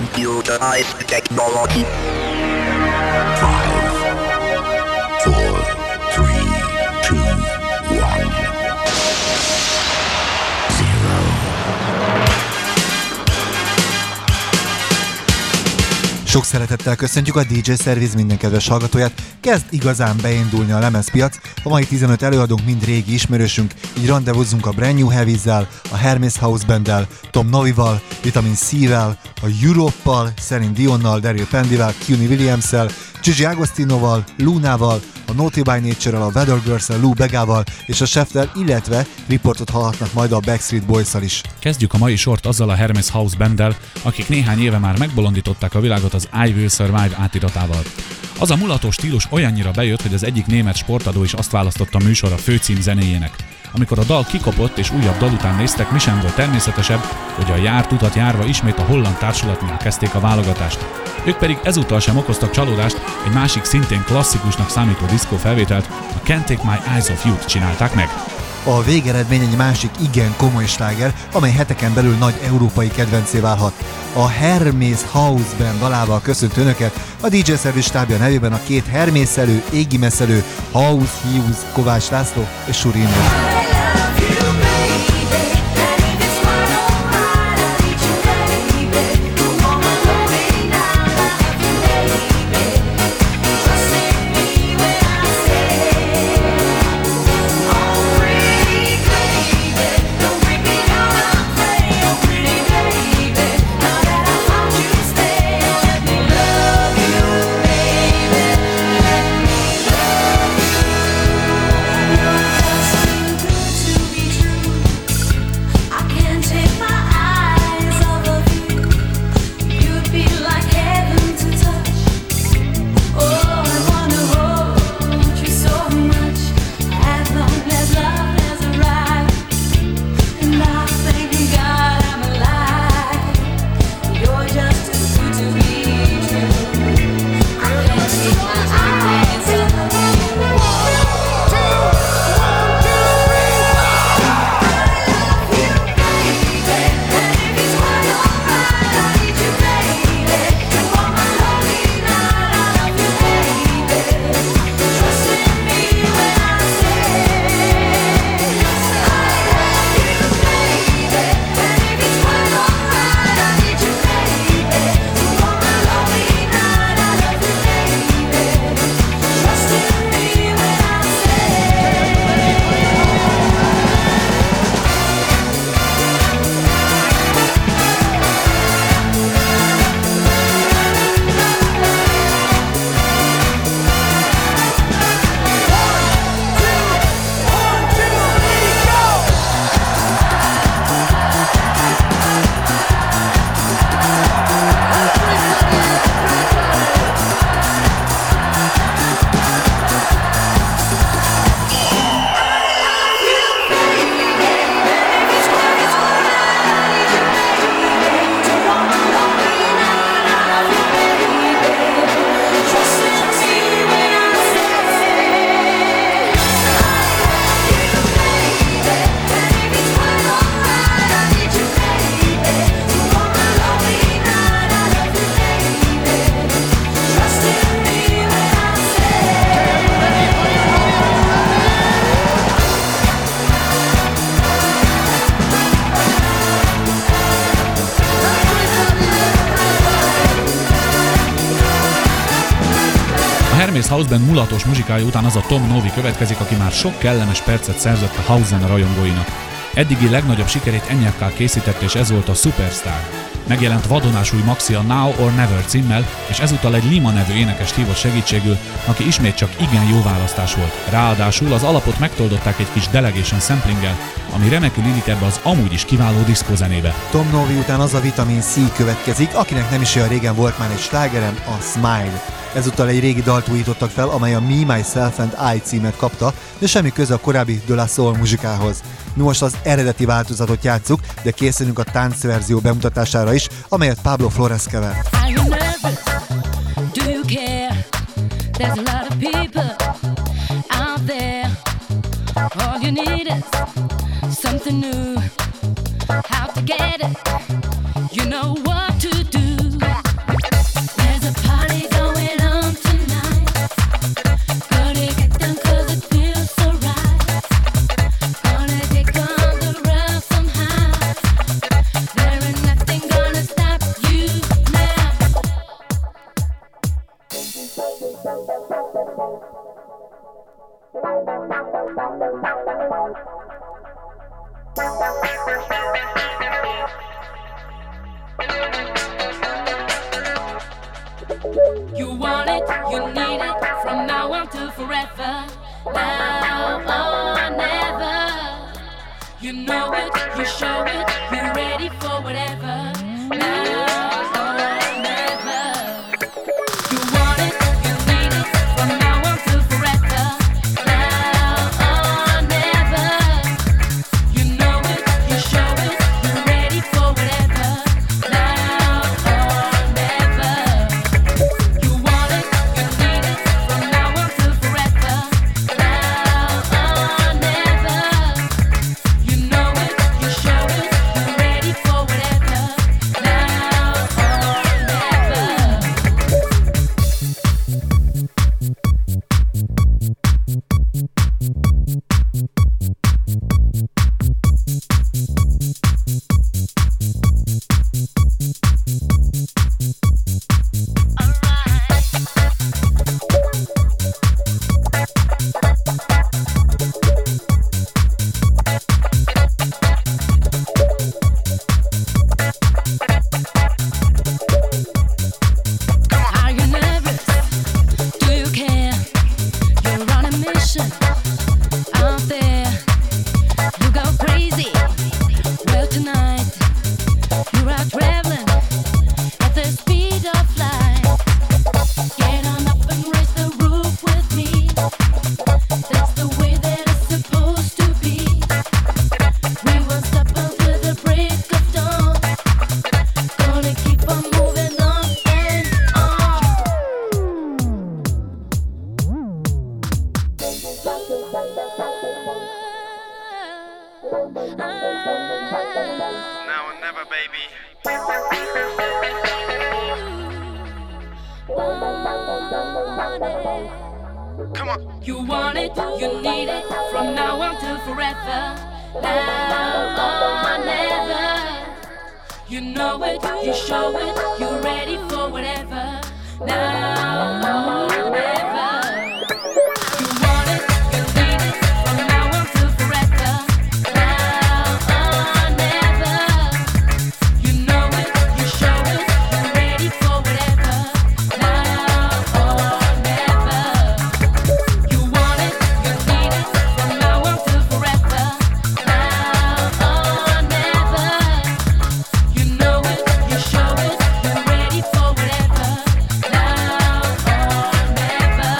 Computerized technology. 5, 4, 3, 2, 1, 0. Sok szeretettel köszöntjük a DJ Service minden kedves hallgatóját. Kezd igazán beindulni a lemezpiac. A mai 15 előadónk mind régi ismerősünk, így randevúzzunk a Brand New Heavyzzel, a Hermes House Banddel, Tom Novival, Vitamin C-vel, a Europe-pal, Celine Dionnal, Daryl Pendyvel, Cuny Williams-szel, Gigi Agostinoval, Lunával, a Naughty by Nature-rel, a Weather Girls-el, Lou Begával és a Cheftel, illetve riportot hallhatnak majd a Backstreet Boys-szal is. Kezdjük a mai sort azzal a Hermes House Banddel, akik néhány éve már megbolondították a világot az I Will Survive átiratával. Az a mulatos stílus olyannyira bejött, hogy az egyik német sportadó is azt választotta a műsor a főcím zenéjének. Amikor a dal kikopott és újabb dal után néztek, mi sem volt természetesebb, hogy a járt utat járva ismét a holland társulatnál kezdték a válogatást. Ők pedig ezúttal sem okoztak csalódást, egy másik szintén klasszikusnak számító diszkó felvételt, a Can't Take My Eyes Off You-t csinálták meg. A végeredmény egy másik igen komoly sláger, amely heteken belül nagy európai kedvencé válhat. A Hermes House Band dalával köszönt önöket a DJ Service stábja nevében a két hermészelő, égimeszelő, House Hughes, Kovács László és Surin. Hermes House Band mulatos muzsikája után az a Tom Novi következik, aki már sok kellemes percet szerzett a house zene rajongóinak. Eddigi legnagyobb sikerét ennyekkel készítette, és ez volt a Superstar. Megjelent vadonásúj maxi a Now or Never címmel, és ezúttal egy Lima nevű énekest hívott segítségül, aki ismét csak igen jó választás volt. Ráadásul az alapot megtoldották egy kis delegation samplinggel, ami remekül illik ebbe az amúgy is kiváló diszkózenébe. Tom Novi után az a Vitamin C következik, akinek nem is olyan régen volt már egy slágerem, a Smile. Ezúttal egy régi dalt újítottak fel, amely a Me, Myself and I címet kapta, de semmi köze a korábbi De La Soul muzsikához. Mi most az eredeti változatot játsszuk, de készülünk a táncverzió bemutatására is, amelyet Pablo Flores kever. All you need is something new. How to get it? You know what to do. You want it, you need it, from now on to forever. Now or never. You know it, you show it, you're ready for whatever. Now or never. You want it, you need it, from now on to forever. Now or never. You know it, you show it, you're ready for whatever. Now or never. You want it, you need it, from now on to forever. Now or never. You know it, you show it, you're ready for whatever. Now or never. Are you nervous? Do you care? You're on a mission out there. You go crazy. Well, tonight you're out traveling at the speed of light. Get on up and raise the roof with me. That's the way that it's supposed to be. We won't stop until the break of dawn. Gonna keep on moving on and Now or never, baby. Come on. You want it, you need it, from now on till forever. Now or never. You know it, you show it, you're ready for whatever. Now or never. You want it, you need it, from now on till forever. Now or never. You know it, you show it, you're ready for whatever. Now or never. You want it, you need it, from now on till forever. Now or never. You know it, you show it, you're ready for whatever. Now or never.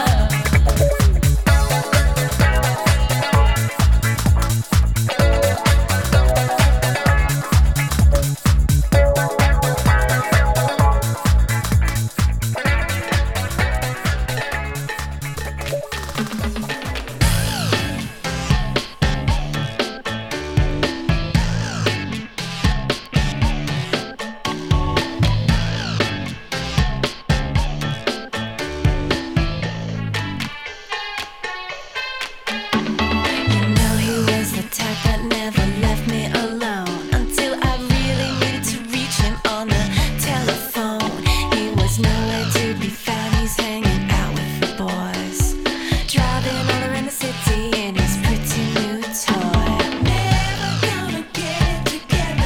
You know he was the type that never left me alone until I really needed to reach him on the telephone. He was nowhere to be found. He's hanging out with the boys, driving all around the city in his pretty new toy. Never gonna get it together.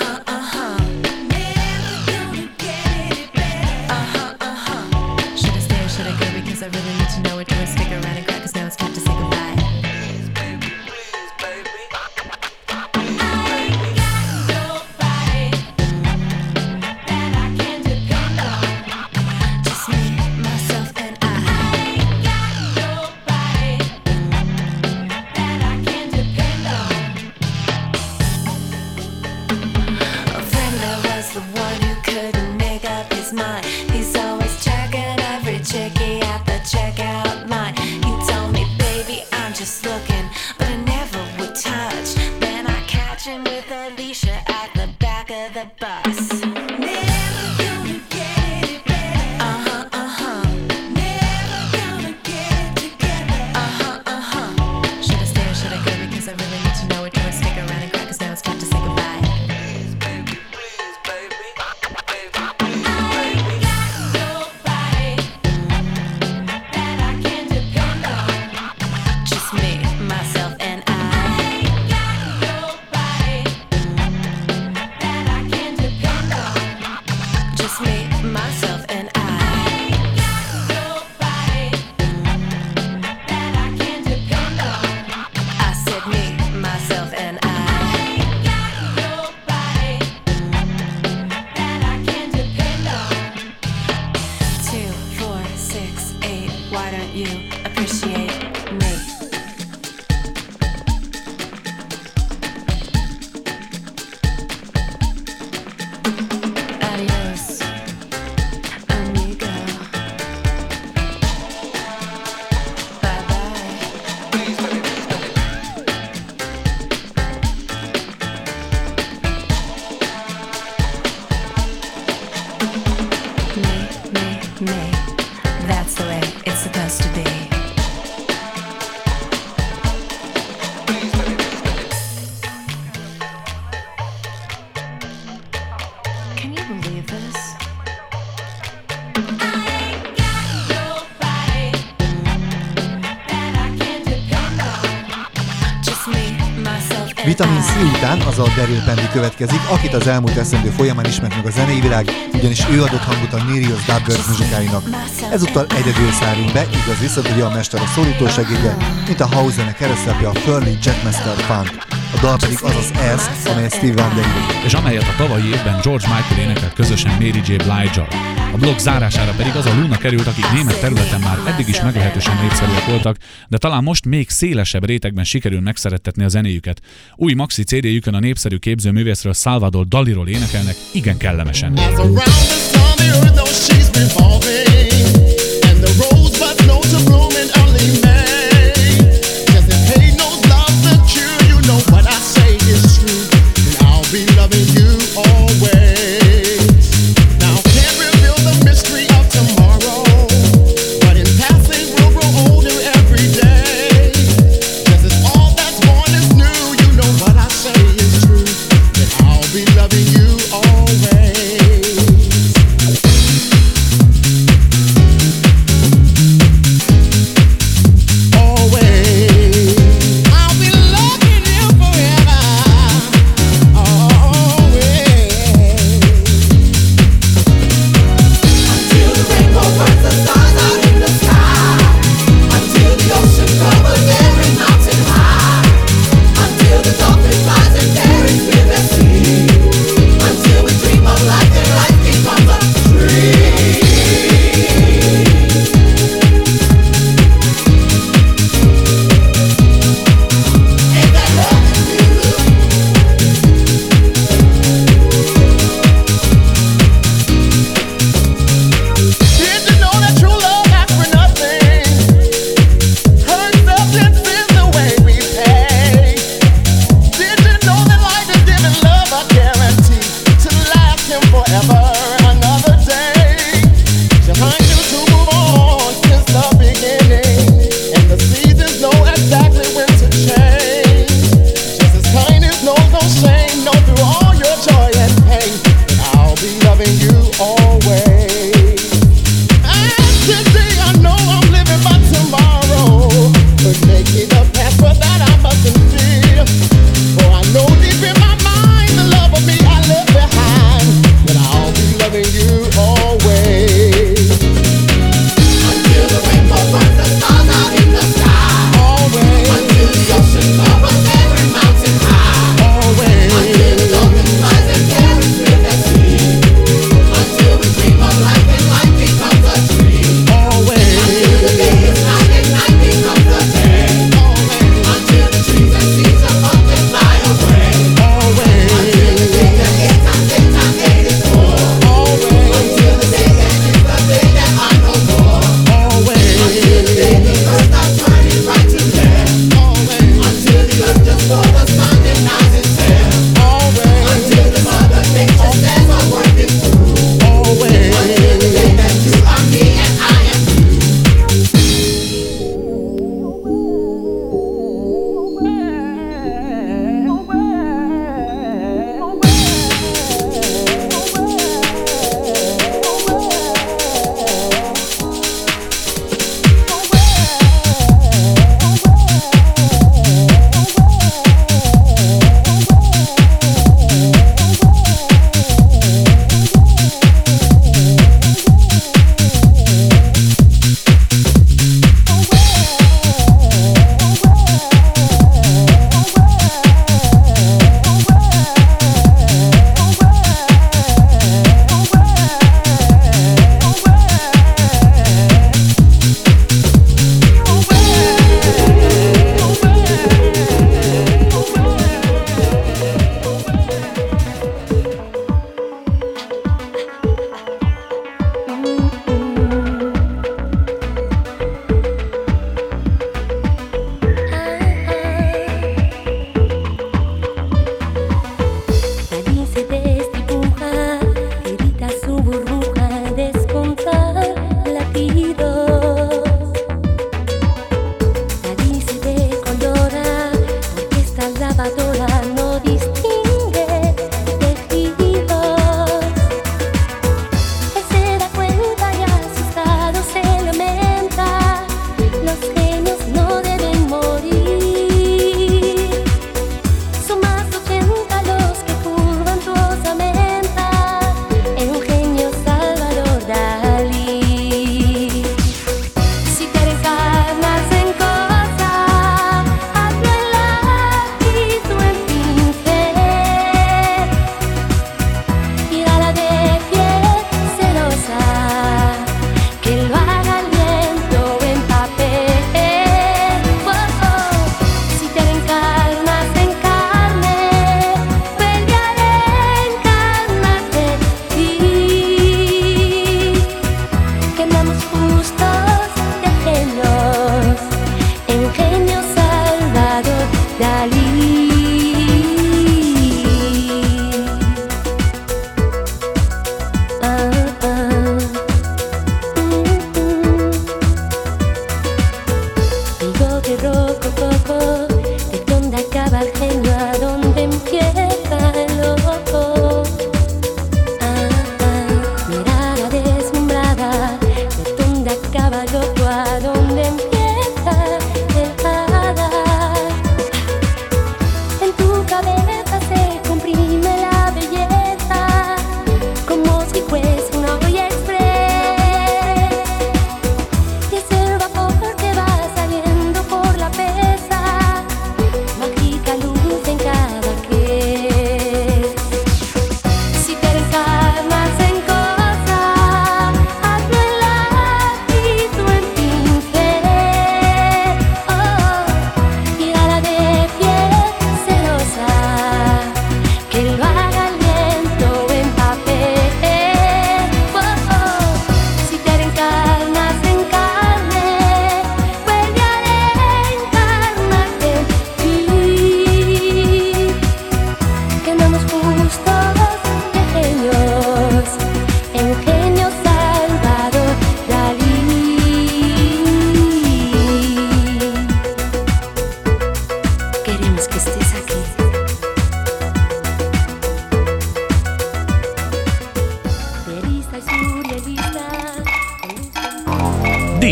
Never gonna get it better. Should I stay or should I go? Because I really need to know it. Do I stick around and cry? 'Cause now it's time to say goodbye. Just me, myself, and I. A friend that was the one who couldn't make up his mind. He's always checking every chickie at the checkout line. He told me, baby, I'm just looking, but I never would touch. Then I catch him with Alicia at the back of the bus. Never gonna get it better. Never gonna get it together. Should I stay or should I go? Because I really need to know it. Do I stick around and cry? 'Cause now it's time to say goodbye. Please, baby. me. That's the way it's supposed to be. Can you believe this? Vitamin C után az a Daryl Pendy következik, akit az elmúlt eszendő folyamán ismert meg a zenei világ, ugyanis ő adott hangot a Nereus Dubverse muzsikáinak. Ezúttal egyedül szárunk be, igaz viszont, hogy a mester a szólító segédje, mint a house zene keresztapja a Furley Jackmaster Funk. A dal pedig az az Ez, amelyet Steve Wonder írt. És amelyet a tavalyi évben George Michael énekelt közösen Mary J. Blige-al. A blog zárására pedig az a Luna került, akik német területen már eddig is meglehetősen népszerűek voltak, de talán most még szélesebb rétegben sikerül megszerettetni a zenéjüket. Új maxi CD-jükön a népszerű képzőművészről Salvador Daliról énekelnek igen kellemesen.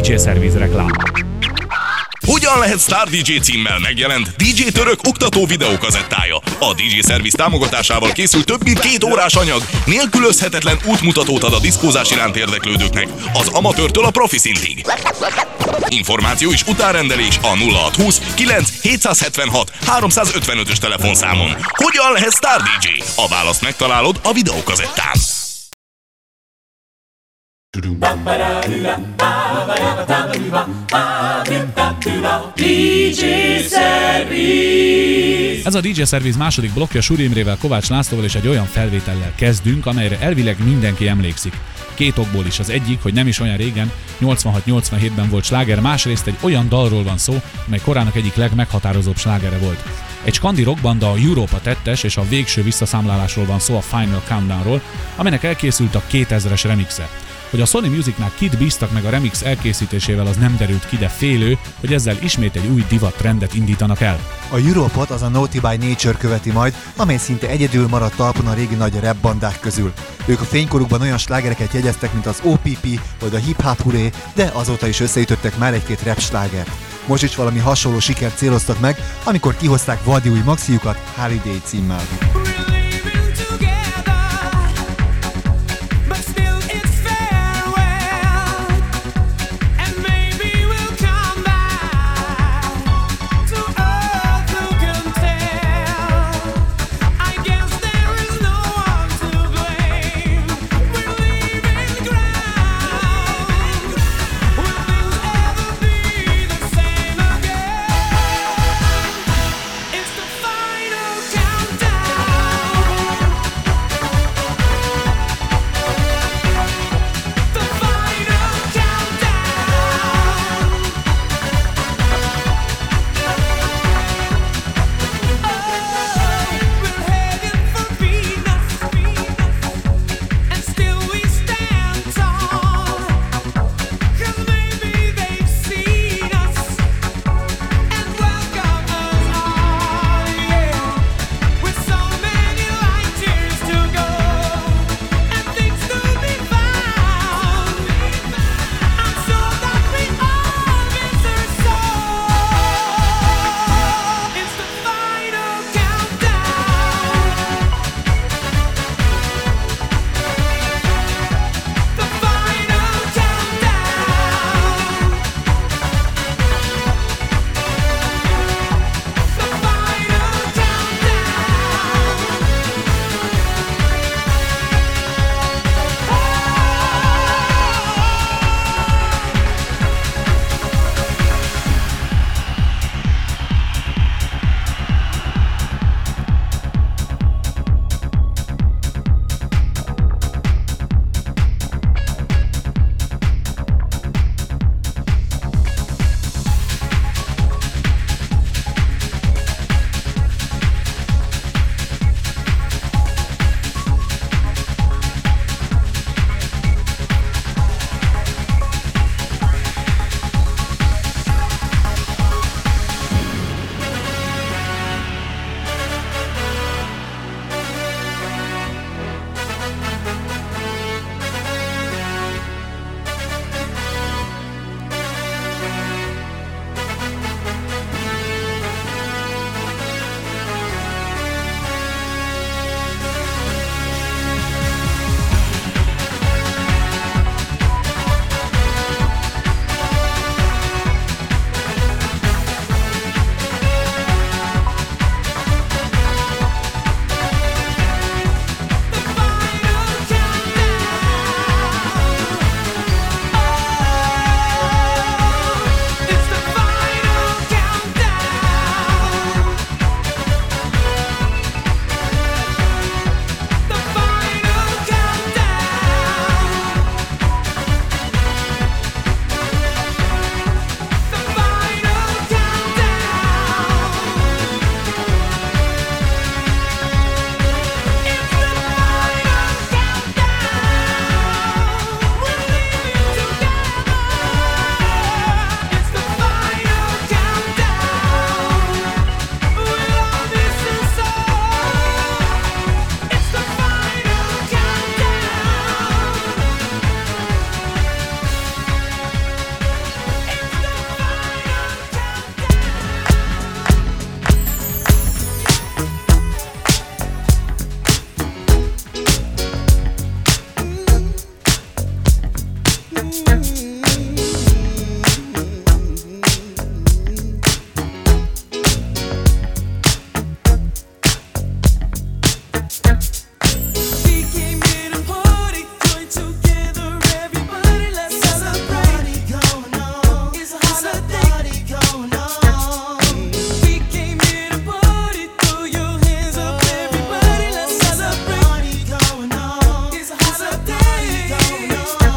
DJ Service reklám. Hogyan lehet Star DJ címmel megjelent DJ Török oktató videókazettája? A DJ Service támogatásával készült több mint 2 órás anyag, nélkülözhetetlen útmutatót ad a diszkózás iránt érdeklődőknek, az amatőrtől a profi szintig. Információ és utánrendelés a 0620 9 776 355-ös telefonszámon. Hogyan lehet Star DJ? A választ megtalálod a videókazettán. DJ Service. Ez a DJ Service második blokkja Suri Imrével, Kovács Lászlóval és egy olyan felvétellel kezdünk, amelyre elvileg mindenki emlékszik. 2 okból is. Az egyik, hogy nem is olyan régen, 86-87-ben volt sláger, másrészt egy olyan dalról van szó, amely korának egyik legmeghatározóbb slágere volt. Egy skandi rockbanda, a Europa tettes, és a végső visszaszámlálásról van szó, a Final Countdownról, aminek elkészült a 2000-es remixe. Hogy a Sony Musicnál kit bíztak meg a remix elkészítésével, az nem derült ki, de félő, hogy ezzel ismét egy új divat trendet indítanak el. A Europot az a Naughty by Nature követi majd, amely szinte egyedül maradt talpon a régi nagy rap bandák közül. Ők a fénykorukban olyan slágereket jegyeztek, mint az OPP vagy a Hip Hop Hurray, de azóta is összeütöttek már egy-két rap slágert. Most is valami hasonló sikert céloztak meg, amikor kihozták vadi új maxiukat Holiday címmel. It's the final countdown.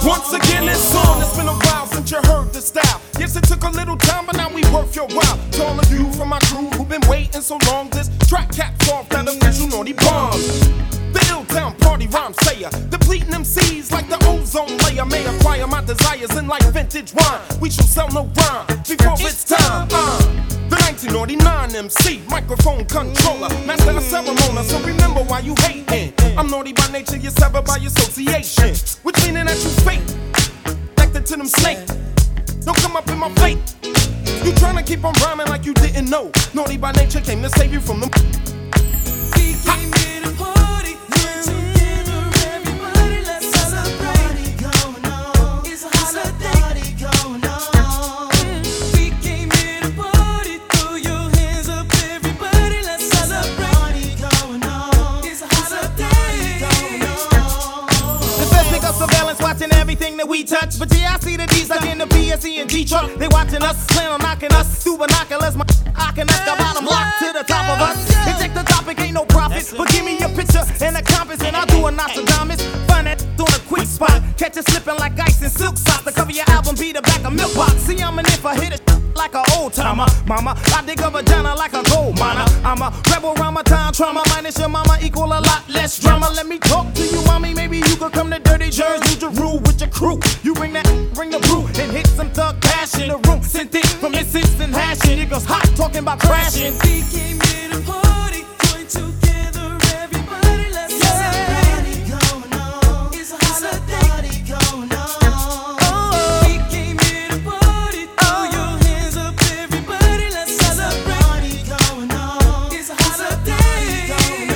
Once again, it's on. It's been a while since you heard the style. Yes, it took a little time, but now we worth your while. To all of you from my crew who've been waiting so long, this track caps off that official naughty bomb. The Ill-Town party rhyme sayer, depleting MCs like the ozone layer. May acquire my desires in like vintage wine. We shall sell no rhyme before it's time. The 1999 MC, microphone controller, master of ceremony. So remember why you hating. I'm naughty by nature, you're severed by association, which meaning that you fake, connected to them snakes. Don't come up in my fate. You tryna keep on rhyming like you didn't know. Naughty by nature came to save you from them. We came here to party, get together, everybody, let's celebrate. Party going on, it's a holiday going on. We came here to party, throw your hands up, everybody, let's celebrate. Party going on, it's a holiday going on. The best pick up surveillance, watching everything that we touch. But yeah, I see the D's like in the PSE and G-Truck. They watching us, plan on knocking us through binoculars. I can ask the bottom lock to the top of us. And check the topic, ain't no profit. But give me a picture and a compass, and I'll do a Nostradamus. Find that on a quick spot. Catch it slipping like ice in silk socks. The cover your album be the back of milk box. See, I'm an if I hit it like an old timer. Mama, I dig a vagina like a gold miner. I'm a rebel around my time trauma. Minus your mama equal a lot less drama. Let me talk to you, mommy. Maybe you could come to Dirty Jersey. You to rule with your crew. You bring the brew, and hit some thug passion. The room sent it from its instant hashing. It goes hot talking about crashing. We came here to party, join together, everybody, let's celebrate. Party going on, it's a holiday going on. We came here to party, throw your hands up, everybody, let's celebrate. Party going on, it's a holiday going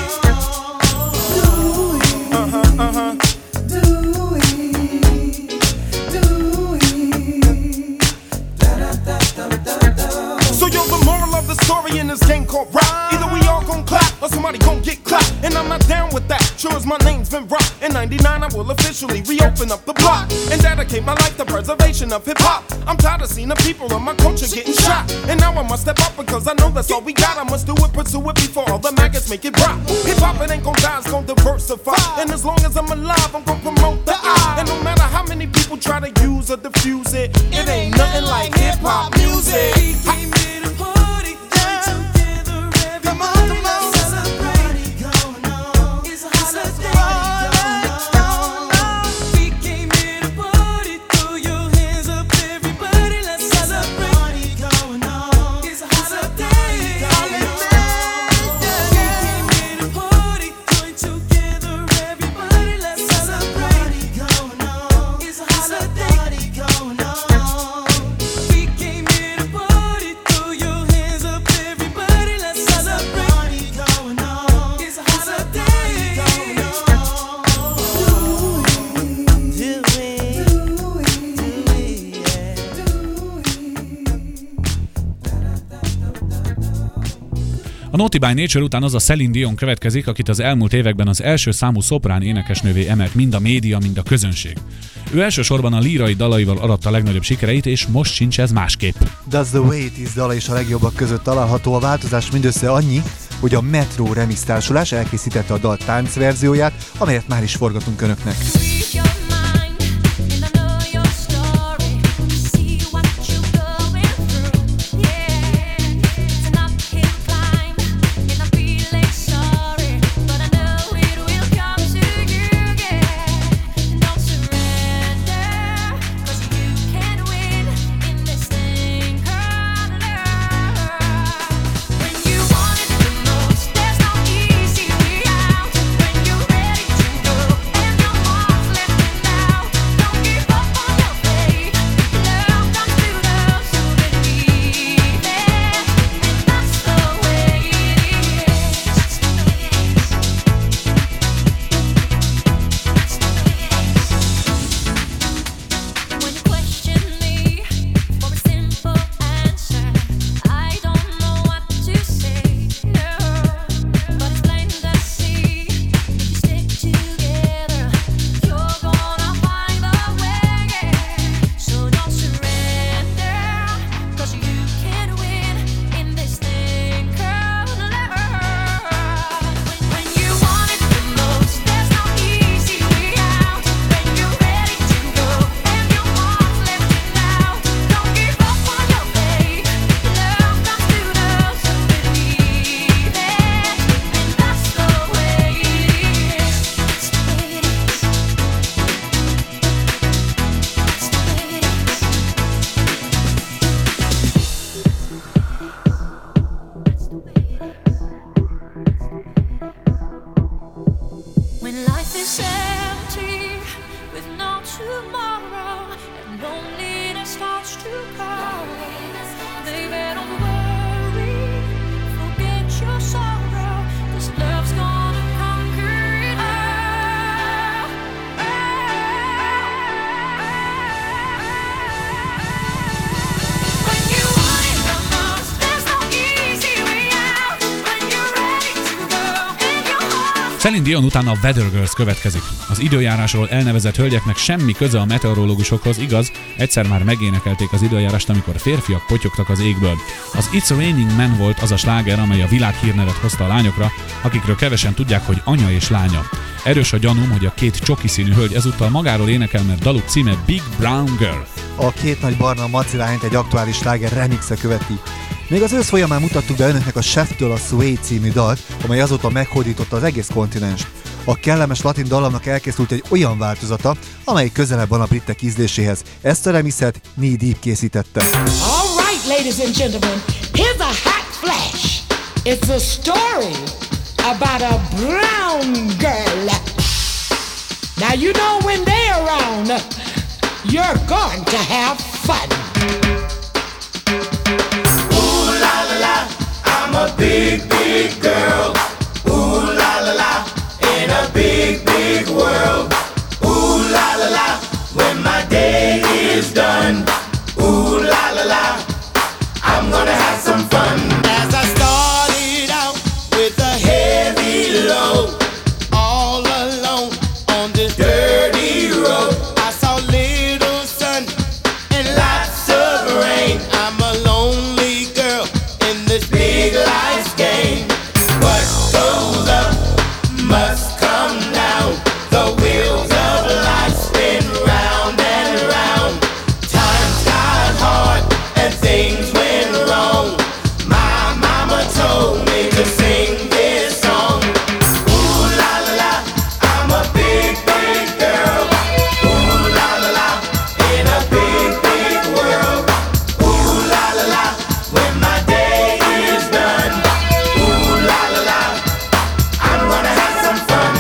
on. The story in this game called rap. Either we all gon' clap or somebody gon' get clapped. And I'm not down with that. Sure as my name's been rocked. In 99 I will officially reopen up the block and dedicate my life to preservation of hip-hop. I'm tired of seeing the people of my culture getting shot. And now I must step up because I know that's all we got. I must do it, pursue it before all the maggots make it rock. Hip-hop, it ain't gon' die, it's gon' diversify. And as long as I'm alive, I'm gon' promote the I. And no matter how many people try to use or diffuse it, it ain't nothing like hip-hop music. We came here to party, join together, everybody, let's celebrate. Party going on, it's a holiday going on. We came here to party, throw your hands up, everybody, let's celebrate. Party going on, it's a holiday going on. We came here to party, join together, everybody, let's celebrate. Party going on, it's a holiday going on. We came here to party, throw your hands up, everybody, let's celebrate. Party going on, it's a holiday going on. A Naughty by Nature után az a Celine Dion következik, akit az elmúlt években az első számú szoprán énekesnővé emelt mind a média, mind a közönség. Ő elsősorban a lírai dalaival aratta a legnagyobb sikereit, és most sincs ez másképp. Does the Way It Is dala is a legjobbak között található. A változás mindössze annyi, hogy a Metro Remix társulás elkészítette a dal táncverzióját, amelyet már is forgatunk önöknek. When you're ready to go and your heart's to call. Baby, don't worry, forget your sorrow, 'cause love's gonna conquer it all. When you want it the most, there's no easy way out. When you're ready to go and your heart. Celine Dion után a Weather Girls következik. Az időjárásról elnevezett hölgyeknek semmi köze a meteorológusokhoz, igaz, egyszer már megénekelték az időjárást, amikor férfiak potyogtak az égből. Az It's Raining Men volt az a sláger, amely a világhírnevet hozta a lányokra, akikről kevesen tudják, hogy anya és lánya. Erős a gyanúm, hogy a két csoki színű hölgy ezúttal magáról énekel, mert daluk címe Big Brown Girl. A két nagy barna macilányt egy aktuális sláger remixe követi. Még az ősz folyamán mutattuk be önöknek a Chef-től a Sway című dalt, amely azóta meghódította az egész kontinenst. A kellemes latin dallamnak elkészült egy olyan változata, amely közelebb van a britek ízléséhez. Ezt a remixet Knee Deep készítette. All right, ladies and gentlemen, here's a hot flash. It's a story about a brown girl. Now you know when they're around, you're going to have fun. Ooh la la la, I'm a big, big girl. Ooh la la la, in a big, big world. Ooh la la la, when my day is done. Ooh la la la, I'm gonna have some fun. As I started out with a heavy load, all alone on this dirty road, I saw little sun and lots of rain. I'm a lonely girl in this big life's game. What goes up must come down. The wheels of life spin round and round. Times got hard and things went wrong. My mama told me to sing this song. Ooh la la la, I'm a big, big girl. Ooh la la la, in a big, big world. Ooh la la la, when my day is done. Ooh la la la, I'm gonna have some fun.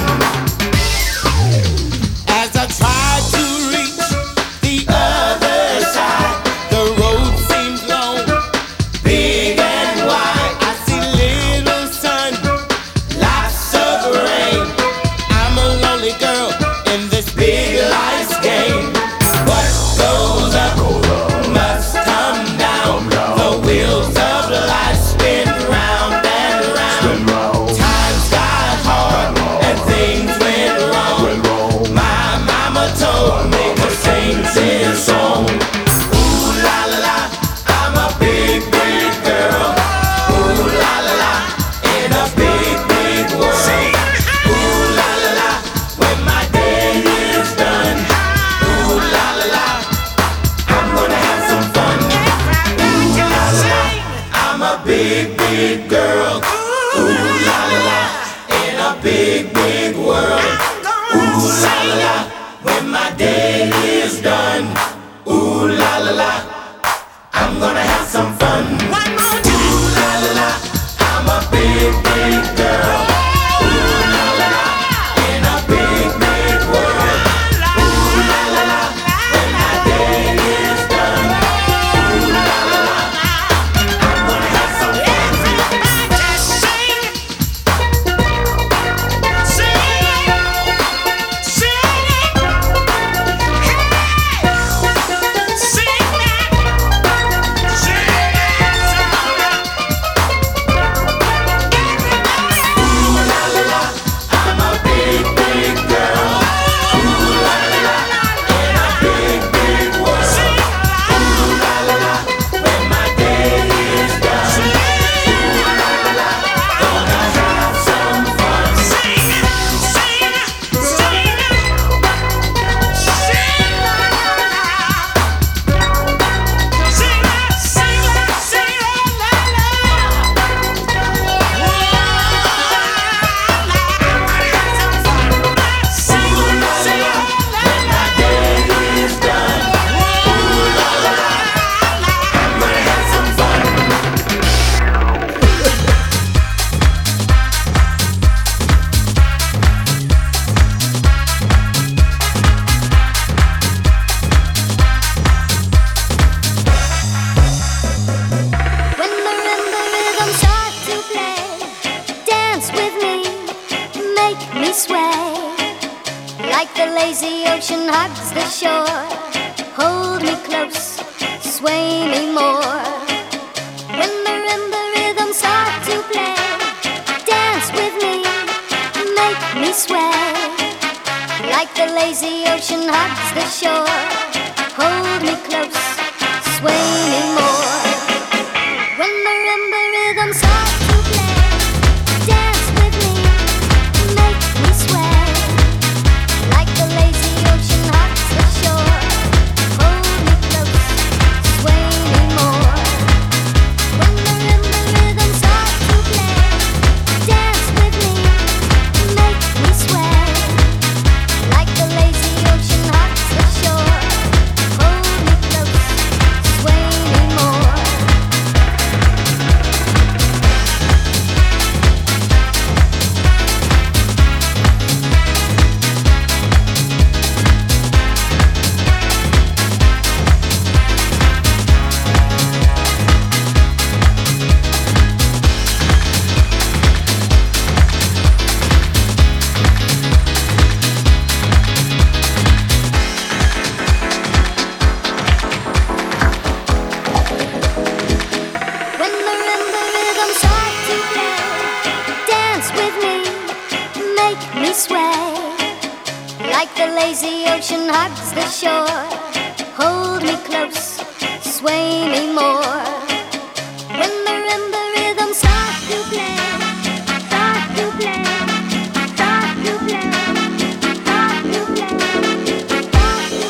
As I tried to reach the other side, the road seems long, big and wide. I see little sun, lots of rain. I'm a lonely girl in this big life's game. What goes up must come down. The wheels of life spin round and round. Times got hard and things went wrong. My mama told me to sing this song. Ooh la la la, I'm a big, big girl. Ooh la la la, in a big, big world. Ooh la la la, when my day is done. Ooh la la la, I'm gonna have some fun. Ooh la la la, I'm a big, big girl. Ooh la la la, in a big, big world. Ooh la la la, when my day is done. Ooh la la la, I'm gonna have some fun. Ooh la la la, I'm a big, big girl. Ooh la la la, in a big, big world. Ooh la la la, when my day is done. Ooh la la la, I'm gonna have some fun. Sing, sing, sing. ocean hugs the shore. Hold me close, sway me more. When the marimba rhythms start to play, dance with me, make me sway. Like the lazy ocean hugs the shore. Hold me close, sway me more. When the marimba rhythms start to play, dance with me, make me sway. Like the lazy ocean hugs the shore. Hold me close, sway me more. When the marimba rhythms start to play, dance with me, make me sway. Like the lazy ocean hugs the shore. Hold me close, sway me more. When the marimba rhythms start to play, dance with me, make me sway. Like the lazy ocean hugs the shore. Hold me close, sway me more. When the marimba rhythms start to play, start to play, start to play, start to play, start to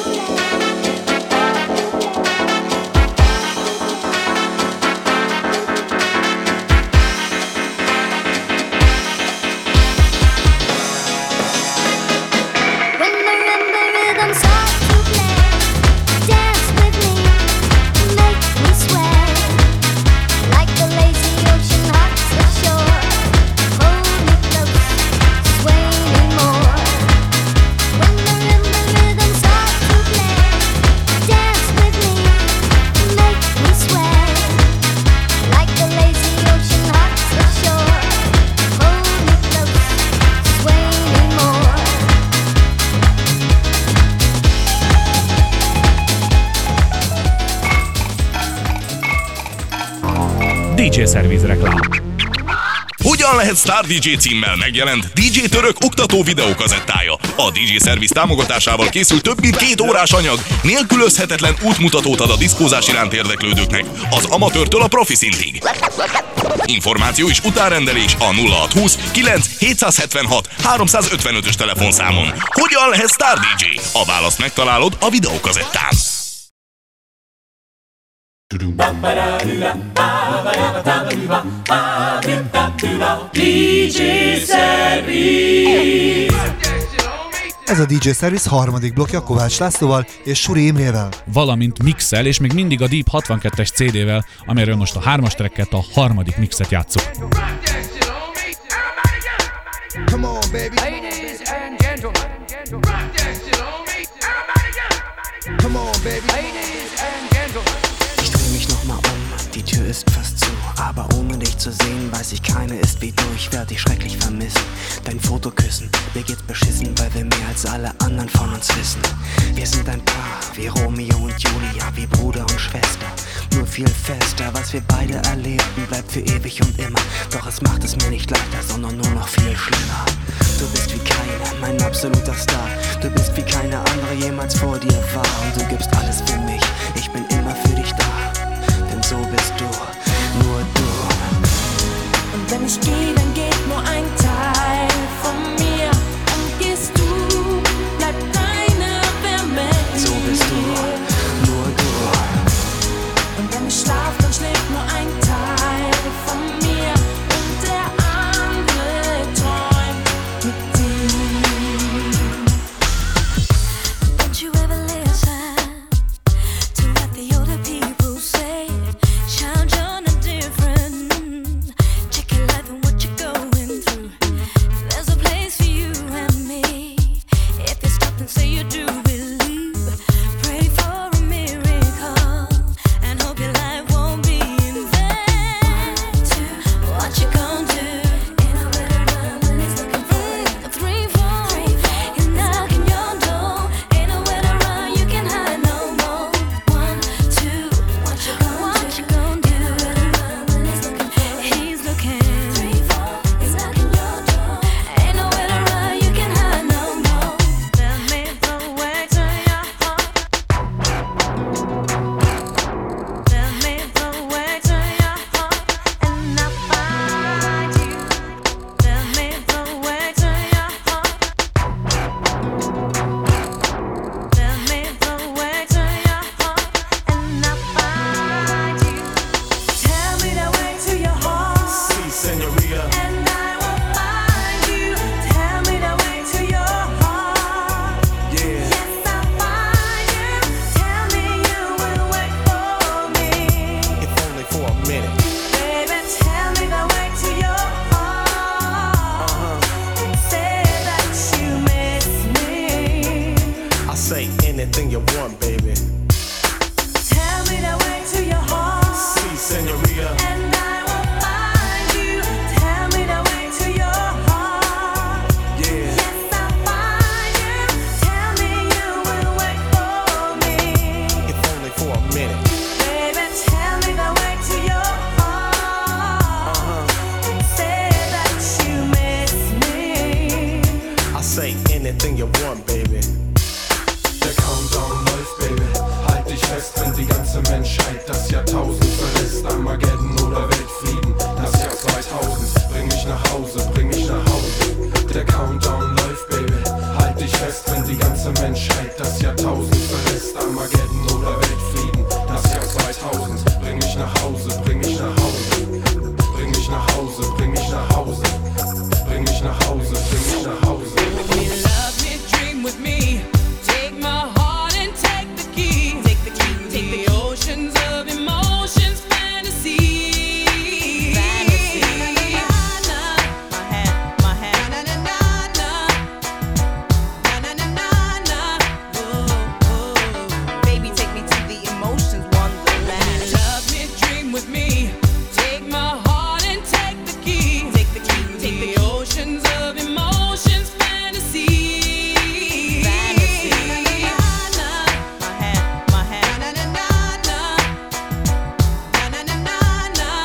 When the marimba rhythms start to play, dance with me, make me sway. Like the lazy ocean hugs the shore. Hold me close, sway me more. When the marimba rhythms start to play, dance with me, make me sway. Like the lazy ocean hugs the shore. Hold me close, sway me more. DJ Service reklám. Hogyan lehet Star DJ címmel megjelent DJ Török oktató videókazettája? A DJ Service támogatásával készült több mint 2 órás anyag, nélkülözhetetlen útmutatót ad a diszkózás iránt érdeklődőknek, az amatőrtől a profi szintig. Információ és utárendelés a 0620 9 776 355-ös telefonszámon. Hogyan lehet Star DJ? A választ megtalálod a videókazettán. Ez a DJ Service harmadik blokkja Kovács Lászlóval és Suri Imrével. Valamint mixel, és még mindig a Deep 62-es CD-vel, amiről most a 3-as tracket, a harmadik mixet játsszuk. Come on, baby. Ladies and gentlemen. Rock that shit on me. Everybody get. Come on, baby. Ladies and gentlemen. Ich dreh mich nochmal um, die Tür ist fast zu. Aber ohne dich zu sehen, weiß ich, keine ist wie du. Ich werd dich schrecklich vermissen. Dein Foto küssen, mir geht's beschissen, weil wir mehr als alle anderen von uns wissen. Wir sind ein Paar, wie Romeo und Julia, wie Bruder und Schwester. Nur viel fester, was wir beide erlebten, bleibt für ewig und immer. Doch es macht es mir nicht leichter, sondern nur noch viel schlimmer. Du bist wie keiner, mein absoluter Star. Du bist wie keine andere jemals vor dir war. Und du gibst alles für mich, ich bin immer für dich da. Denn so bist du, nur du. Und wenn ich gehe, dann geht nur ein Teil von mir. Und gehst du, bleibt deine Wärme hier. So bist du, nur du. Und wenn ich schlaf, dann schläft nur ein Teil von mir. Und der andere träumt mit dir. Don't you ever listen say anything you want, baby. Tell me the way to your heart. See, senorita. And I will find you. Tell me the way to your heart. Yeah. Yes, I'll find you. Tell me you will wait for me. If only for a minute. Baby, tell me the way to your heart. Say that you miss me. I say anything you want, baby. Der Countdown läuft, Baby. Halt dich fest, wenn die ganze Menschheit das Jahrtausend verlässt. Armageddon oder Weltfrieden, das Jahr 2000. Bring mich nach Hause, bring mich nach Hause. Der Countdown läuft, Baby. Halt dich fest, wenn die ganze Menschheit das Jahrtausend verlässt. Armageddon oder Weltfrieden, das Jahr 2000. Bring mich nach Hause, bring mich nach Hause. Bring mich nach Hause, bring mich nach Hause. Bring mich nach Hause, bring mich nach Hause. Love me, dream with me. Take my heart and take the key. Take the key, take the oceans of emotions, fantasy. Fantasy. My hand, my hand. Na na na na. Na na na na. Whoa. Baby, take me to the emotions wonderland. Love me, dream with me. Take my heart and take the key. Take the key, take the oceans of emotions, fantasy. Fantasy. My hand, my hand. Na na na na. Na na na na.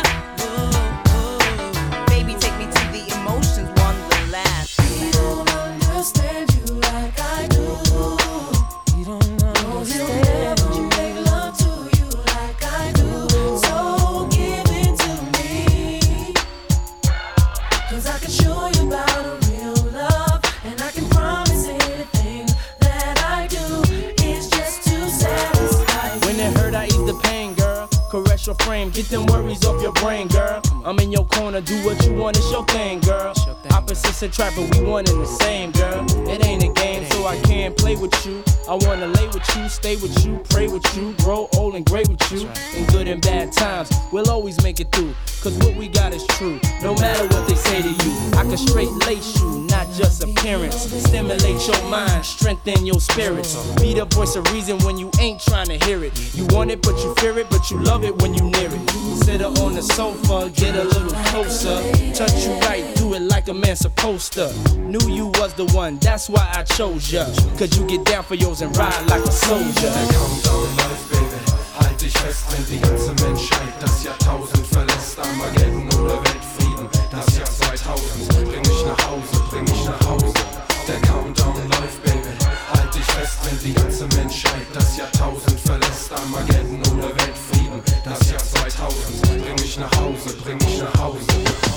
Whoa. Baby, take me to the emotions wonderland. We don't understand you like I do. You don't understand you. Make love to you like I do. So give it to me. 'Cause I can show you about a real love. And I can promise anything that I do is just to satisfy you. When it hurt, I ease the pain, girl. Caress your frame, get them worries off your brain, girl. I'm in your corner, do what you want, it's your thing, girl. Opposites attract, but we one and the same, girl. It ain't a game, so I can't play with you. I wanna lay with you, stay with you, pray with you, grow old and great with you. In good and bad times, we'll always make it through. 'Cause what we got is true, no matter what they say to you. I can straight lace you, not just appearance. Stimulate your mind, strengthen your spirits. Be the voice of reason when you ain't trying to hear it. You want it, but you fear it, but you love it when you near it. Sit her on the sofa, get a little closer. Touch you right, do it like a man supposed to. Knew you was the one, that's why I chose ya. 'Cause you get down for yours and ride like a soldier. Der Countdown läuft, Baby. Halt dich fest, wenn die ganze Menschheit das Jahrtausend verlässt. Armageddon oder Weltfrieden, das Jahr 2000. Bring mich nach Hause, bring mich nach Hause. Der Countdown läuft, Baby. Halt dich fest, wenn die ganze Menschheit das Jahrtausend verlässt. Armageddon oder Weltfrieden, das Jahr 2000. Bring mich nach Hause, bring mich nach Hause.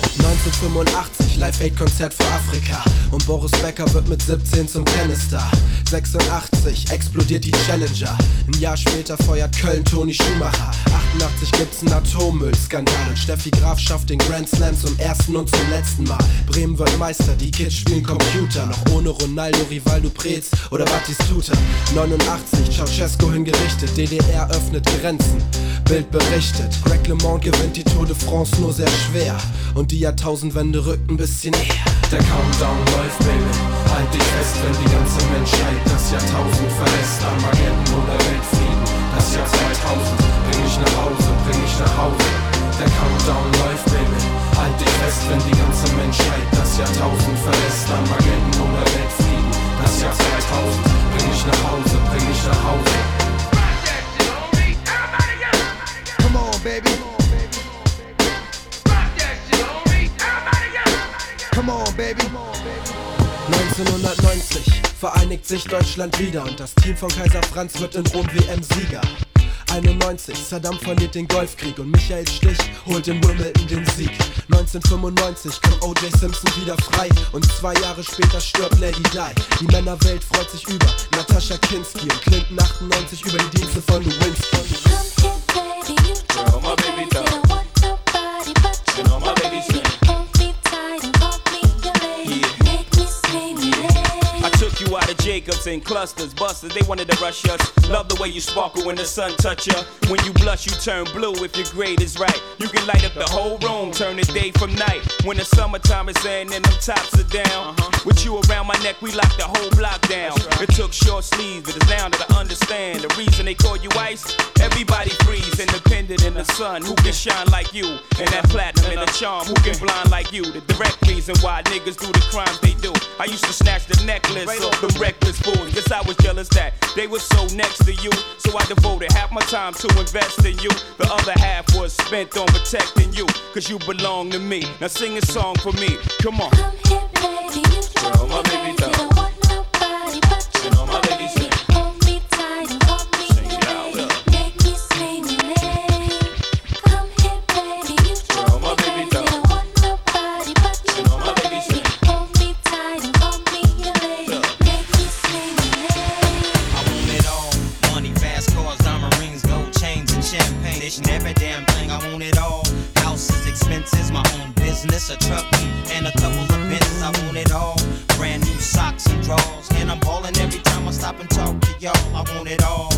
1985, Live-Aid-Konzert für Afrika. Und Boris Becker wird mit 17 zum Tennisstar. 86 explodiert die Challenger. Ein Jahr später feuert Köln Toni Schumacher. 88 gibt's einen Atommüllskandal. Und Steffi Graf schafft den Grand Slam zum ersten und zum letzten Mal. Bremen wird Meister, die Kids spielen Computer. Noch ohne Ronaldo, Rivaldo, Preetz oder Batistuta. 89, Ceausescu hingerichtet. DDR öffnet Grenzen. Bild berichtet, Greg LeMond gewinnt die Tour de France nur sehr schwer. Und die Jahrtausendwende rückt ein bisschen näher. Der Countdown läuft, Baby. Halt dich fest, wenn die ganze Menschheit das Jahrtausend verlässt. Armageddon oder Weltfrieden, das Jahr 2000. Bring mich nach Hause, bring mich nach Hause. Der Countdown läuft, Baby. Halt dich fest, wenn die ganze Menschheit das Jahrtausend verlässt. Armageddon oder Weltfrieden, das Jahr 2000. Bring mich nach Hause, bring mich nach Hause. Come on, baby. Come on, baby. 1990 vereinigt sich Deutschland wieder und das Team von Kaiser Franz wird in Rom WM-Sieger. 91, Saddam verliert den Golfkrieg und Michael Stich holt in Wimbledon den Sieg. 1995 kommt O.J. Simpson wieder frei und 2 Jahre später stirbt Lady Di. Die Männerwelt freut sich über Natascha Kinski und Clinton 98 über die Dienste von Lewinsky. You out of J. Jacobs in clusters, busters, they wanted to rush us. Love the way you sparkle when the sun touch ya. When you blush, you turn blue if your grade is right. You can light up the whole room, turn the day from night. When the summertime is in and them tops are down. With you around my neck, we lock the whole block down. It took short sleeves, but it's now that I understand the reason they call you ice. Everybody freeze, independent in the sun. Who can shine like you? And that platinum and the charm, who can blind like you? The direct reason why niggas do the crimes they do. I used to snatch the necklace off them reckless fools. Guess I was jealous that they were so next to you. So I devoted half my time to invest in you. The other half was spent on protecting you. Cause you belong to me. Now sing a song for me. Come on. Come here, baby. You Girl, my baby you don't want nobody but you. You know my baby sing. Hold me tight and hold me late. Make me say your name. Come here, baby. You Girl, my baby you don't want nobody but you. You know my baby sing. Hold me tight and hold me late. Make me say your name. I want it all. Money, fast cars, diamond rings, gold chains, and champagne. This and every damn thing, I want it all. Houses, expenses, my own business, a truck, and a couple of Benzes. I want it all. Brand new socks and drawers, and I'm ballin' every time I stop and talk to y'all. I want it all.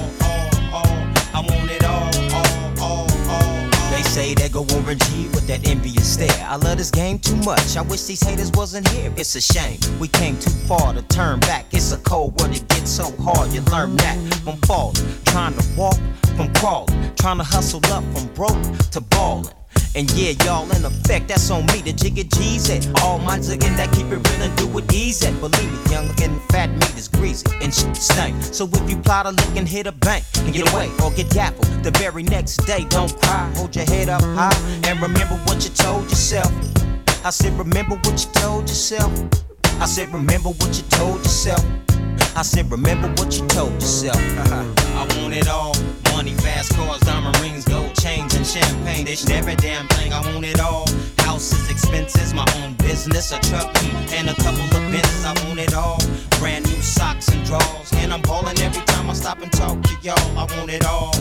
I want it all. They say they go over G with that envious stare. I love this game too much. I wish these haters wasn't here. It's a shame we came too far to turn back. It's a cold world, it gets so hard. You learn that from falling, trying to walk from crawling, trying to hustle up from broke to ballin'. And yeah, y'all in effect, that's on me. The jigga G's at all my ziggin' that keep it real and do it easy. Believe me, young looking fat meat is greasy and shit stank. So if you plot a lick and hit a bank and get away or get gaffled the very next day, don't cry. Hold your head up high and remember what you told yourself. I said, remember what you told yourself. I said, remember what you told yourself. I said, remember what you told yourself. I want it all. Money, fast cars, diamond rings, gold chains, and champagne. This every damn thing, I want it all. Houses, expenses, my own business, a truck, and a couple of Benzes. I want it all. Brand new socks and drawers, and I'm ballin' every time I stop and talk to y'all. I want it all.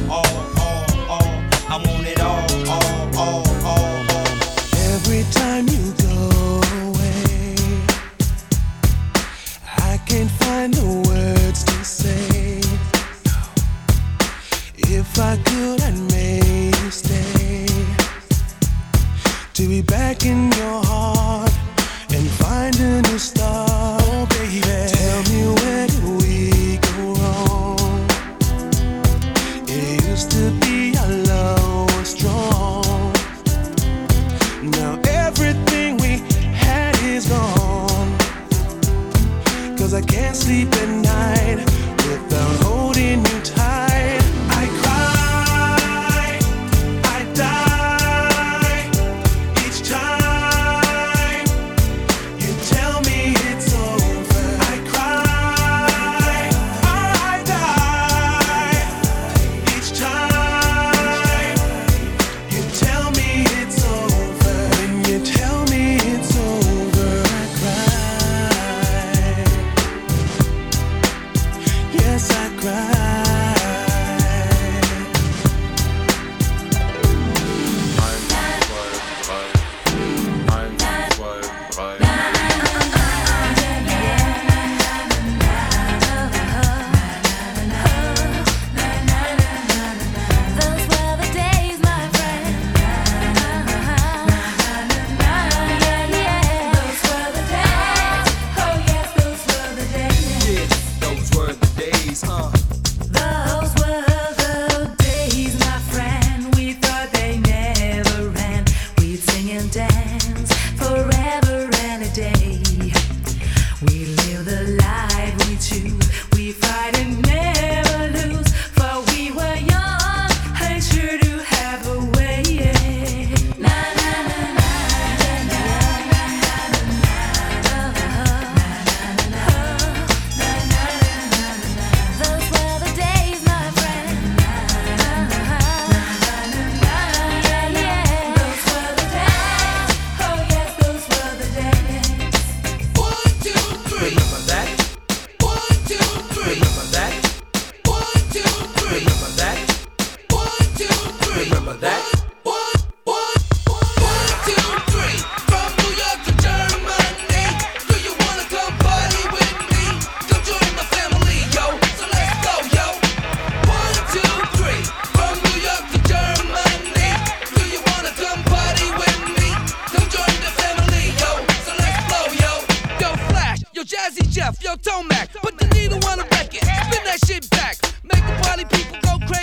I want it all. Every time you go away, I can't find the words to say. If I could, I'd make you stay. To be back in your heart and find a new start. Oh, baby, tell me where did we go wrong? It used to be our love was strong. Now everything we had is gone. Cause I can't sleep at night without holding you tight. I cry, I die each time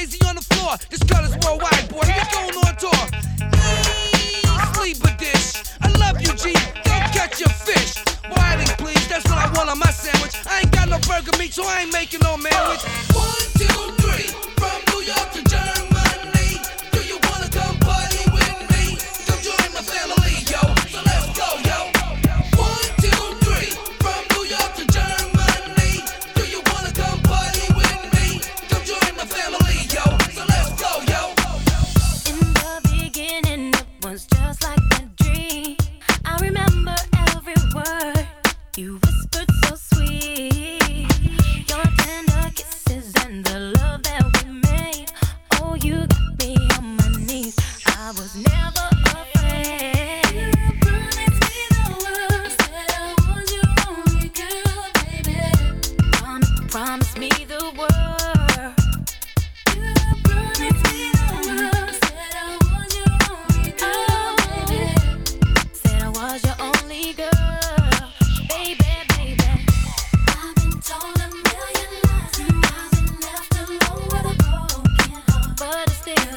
easy on the floor. This girl is worldwide, boy. We going on tour. Sleeper dish. I love you, G. Don't catch your fish. Whiting, please. That's what I want on my sandwich. I ain't got no burger meat, so I ain't making no sandwich. 1, 2, 3. From New York to Germany. Do you wanna come party with me? Come join my family, yo. So let's go, yo. 1, 2, 3. From New York to Germany. Do you wanna come party with me? Come join my family, yo. So let's go, yo. In the beginning, it was just like a dream. I remember every word you whispered so sweet. Your tender kisses and the love that we made. Oh, you got me on my knees. I was never afraid. You promised me the world, said I was your only girl, baby. Promise me the world. You promised me the world, said I was your only girl, baby. Said I was your only girl, baby, baby. I've been told a million lies. I've been left alone with a broken heart, but I still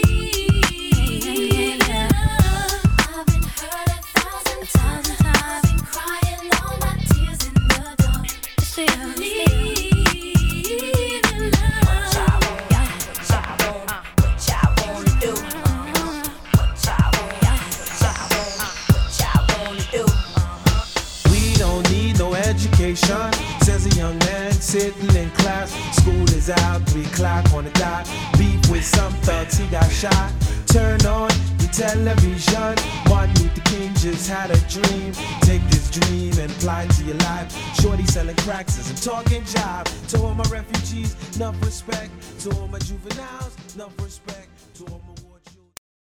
need love. I've been hurt 1,000 times. I've been crying all my tears in the dark. Still need love. We don't need no education, says a young man sitting in class. School is out, 3 o'clock on the dot. Beef with some thugs, he got shot. Turn on your television. Martin Luther King just had a dream. Take this dream and apply it to your life. Shorty selling cracks and talking job. To all my refugees, enough respect. To all my juveniles, enough respect. To all my war children.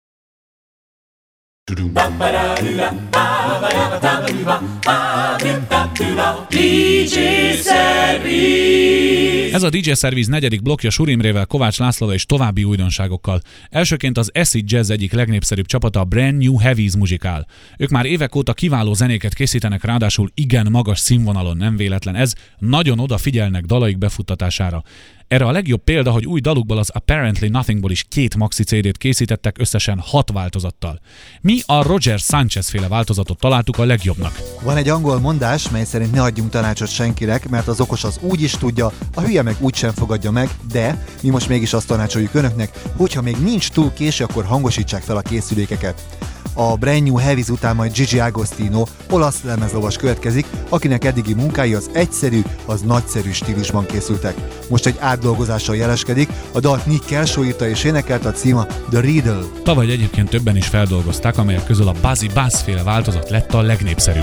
DJ Service. Ez a DJ Service negyedik blokkja Surimrével, Kovács Lászlóval és további újdonságokkal. Elsőként az Acid Jazz egyik legnépszerűbb csapata, a Brand New Heavies muzsikál. Ők már évek óta kiváló zenéket készítenek, ráadásul igen magas színvonalon, nem véletlen ez, nagyon odafigyelnek dalaik befuttatására. Erre a legjobb példa, hogy új dalukból, az Apparently Nothingból is 2 maxi CD-t készítettek összesen 6 változattal. Mi a Roger Sanchez féle változatot találtuk a legjobbnak. Van egy angol mondás, mely szerint ne adjunk tanácsot senkinek, mert az okos az úgy is tudja, a hülye meg úgy sem fogadja meg, de mi most mégis azt tanácsoljuk önöknek, hogyha még nincs túl késő, akkor hangosítsák fel a készülékeket. A Brand New Heavies után majd Gigi Agostino, olasz lemezlovas következik, akinek eddigi munkái az egyszerű, az nagyszerű stílusban készültek. Most egy átdolgozással jeleskedik, a dalt Nick Kershaw írta és énekelte, a címa The Riddle. Tavaly egyébként többen is feldolgozták, amelyek közül a Buzzy Buzz féle változat lett a legnépszerűbb.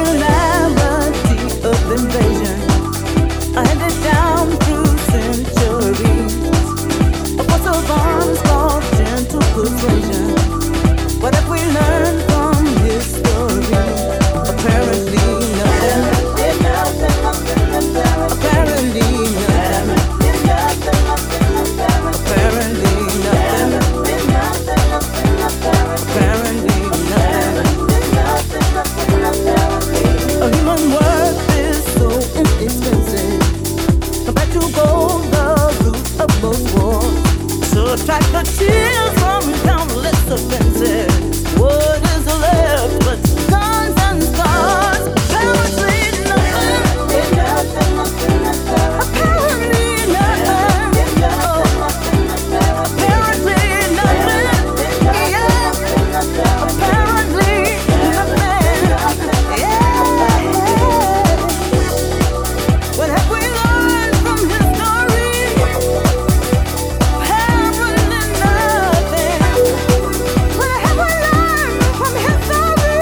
What have we learned from history? Apparently nothing. Apparently nothing. Apparently nothing. Apparently nothing. A human worth is so inexpensive. Compared to gold, the root of most wars. So attract the tears from countless offenses. What is left but scars and scars? Apparently nothing. Apparently nothing. Apparently nothing. Yeah. Apparently nothing. Yeah. What have we learned from history? Apparently nothing. What have we learned from history?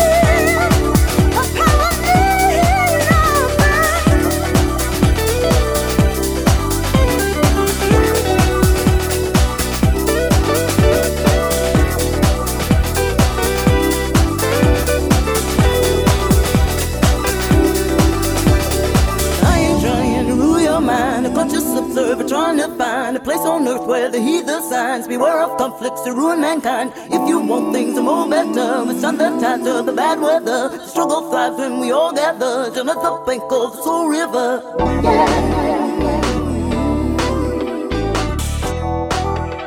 observer trying to find a place on earth where the heathen signs beware of conflicts to ruin mankind. If you want things to move better, withstand the tides of the bad weather. The struggle thrives when we all gather down at the bank of the Soul River.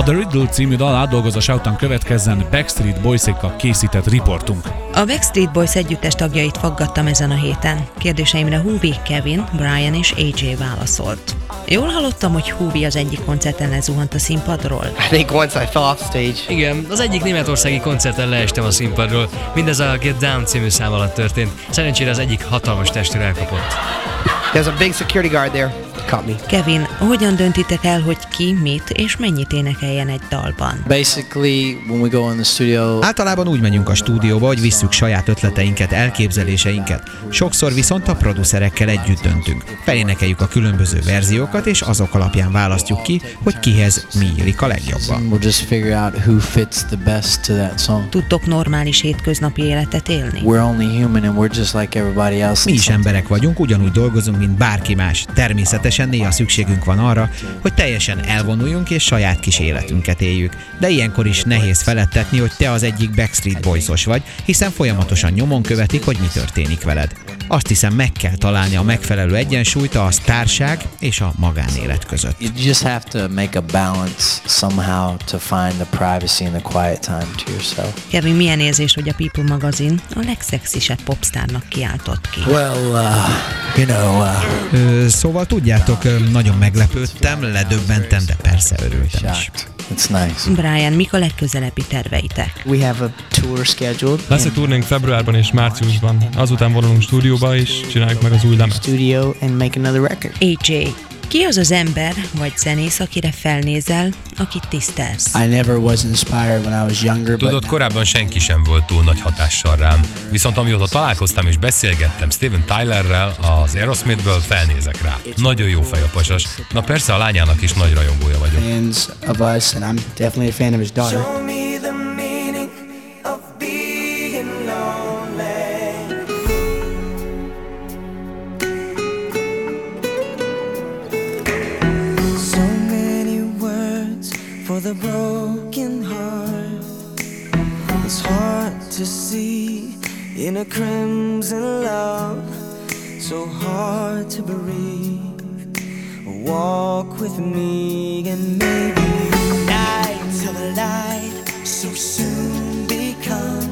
A The Riddle című dal átdolgozása után következzen Backstreet Boys-ékkal készített riportunk. A Backstreet Boys együttes tagjait faggattam ezen a héten. Kérdéseimre Hoovie, Kevin, Brian és AJ válaszolt. Jól hallottam, hogy Hoovie az egyik koncerten lezuhant a színpadról? I think once I fell off stage. Igen, az egyik németországi koncerten leestem a színpadról. Mindez a Get Down című szám alatt történt. Szerencsére az egyik hatalmas testőr elkapott. There's a big security guard there. Caught me. Kevin, hogyan döntitek el, hogy ki, mit és mennyit énekeljen egy dalban? Basically, when we go in the studio... Általában úgy megyünk a stúdióba, hogy visszük saját ötleteinket, elképzeléseinket. Sokszor viszont a producerekkel együtt döntünk. Felénekeljük a különböző verziókat, és azok alapján választjuk ki, hogy kihez mi illik a legjobban. We'll just figure out who fits the best to that song. Tudtok normális hétköznapi életet élni? We're only human and we're just like everybody else. Mi is emberek vagyunk, ugyanúgy dolgozunk, mint bárki más. Természetesen néha szükségünk van arra, hogy teljesen elvonuljunk és saját kis életünket éljük. De ilyenkor is nehéz feledtetni, hogy te az egyik Backstreet Boys-os vagy, hiszen folyamatosan nyomon követik, hogy mi történik veled. Azt hiszem, meg kell találni a megfelelő egyensúlyt a sztárság és a magánélet között. You just have to make a balance somehow to find the privacy and the quiet time to yourself. Kevin, milyen érzés, hogy a People magazin a legszexisebb popstárnak kiáltott ki? Well, Szóval tudjátok, nagyon meglepődtem, ledöbbentem, de persze örültem is. It's nice. Brian, mik a legközelebbi terveitek? We have a tour scheduled. Lesz egy turnénk februárban és márciusban. Azután vonulunk stúdióba és csináljuk meg az új lemez. Studio and make another record. AJ, ki az az ember vagy zenész, akire felnézel, akit tisztelsz? I never was inspired when I was younger. Tudod, korábban senki sem volt túl nagy hatással rám. Viszont amióta találkoztam és beszélgettem Steven Tylerrel, az Aerosmithből, felnézek rá. Nagyon jó fej a pasas. Na persze, a lányának is nagy rajongója vagyok. Fans of us, and I'm definitely a fan of his daughter. Show me the meaning of being lonely. So many words for the broken heart. It's hard to see in a crimson love. So hard to breathe. Walk with me and maybe night till the light so soon become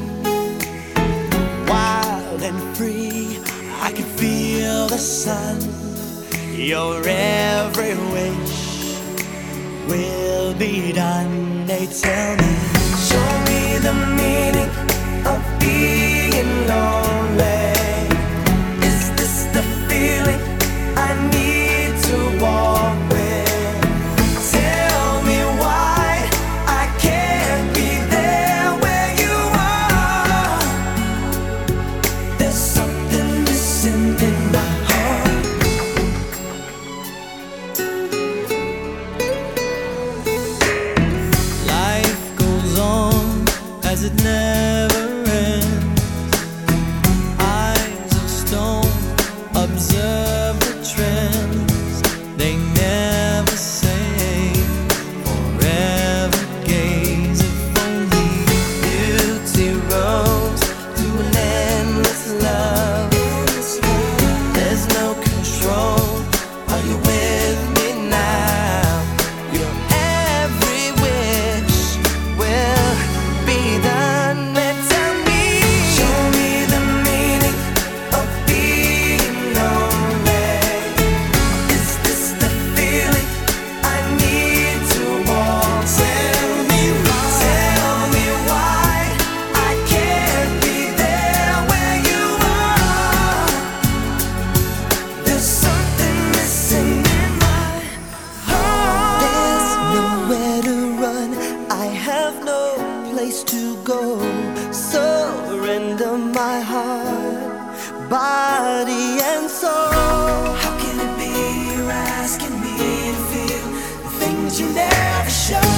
wild and free. I can feel the sun. Your every wish will be done. They tell me, show me the meaning of being lonely. Is this the feeling I need to walk with? Tell me why I can't be there where you are. There's something missing in my heart. Life goes on as it never ends. Eyes of stone observe the trends. They never say forever gaze. If only beauty rose to an endless love. There's no control. Are you with me now? Your every wish will be done. Tell me, show me the meaning of being lonely. Is this the feeling I need to walk? Tell me why I can't be there where you are. There's something missing in my heart. There's nowhere to run. I have no place to go. Surrender my heart, body and soul. How can it be you're asking me to feel the things you never show?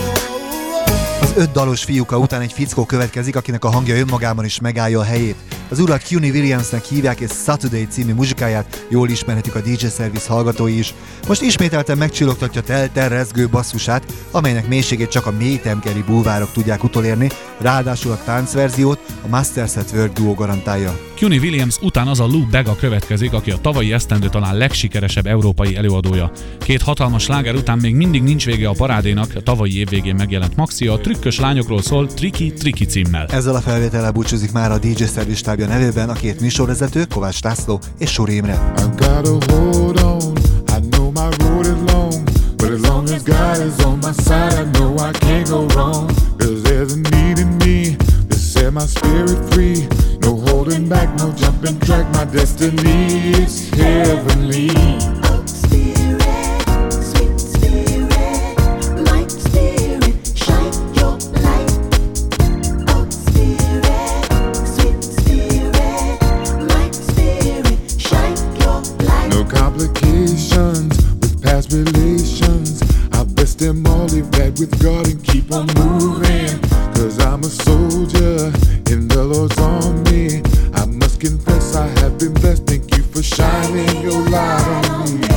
Az 5 dalos fiúka után egy fickó következik, akinek a hangja önmagában is megállja a helyét. Az urat CUNY Williamsnek hívják, és Saturday című muzsikáját jól ismerhetik a DJ Service hallgatói is. Most ismételten megcsillogtatja telterrezgő basszusát, amelynek mélységét csak a mélytemkeri bulvárok tudják utolérni, ráadásul a táncverziót a Masters at Work duo garantálja. CUNY Williams után az a Lou Bega következik, aki a tavalyi esztendő talán legsikeresebb európai előadója. Két hatalmas sláger után még mindig nincs vége a parádénak, a tavalyi év végén megjelent maxia a trükkös lányokról szól Tricky címmel. Ezzel a felvétellel búcsúzik már a DJ Service stábja nevében a két műsorvezető, Kovács László és Suri Imre. But as long as God is on my side, I know I can't go wrong. 'Cause there's a need in me to set my spirit free. No holding back, no jumping track, my destiny is heavenly. No complications with past relations. I best them all, leave that with God and keep on moving. 'Cause I'm a soldier in the Lord's army. I must confess I have been blessed. Thank you for shining your light on me.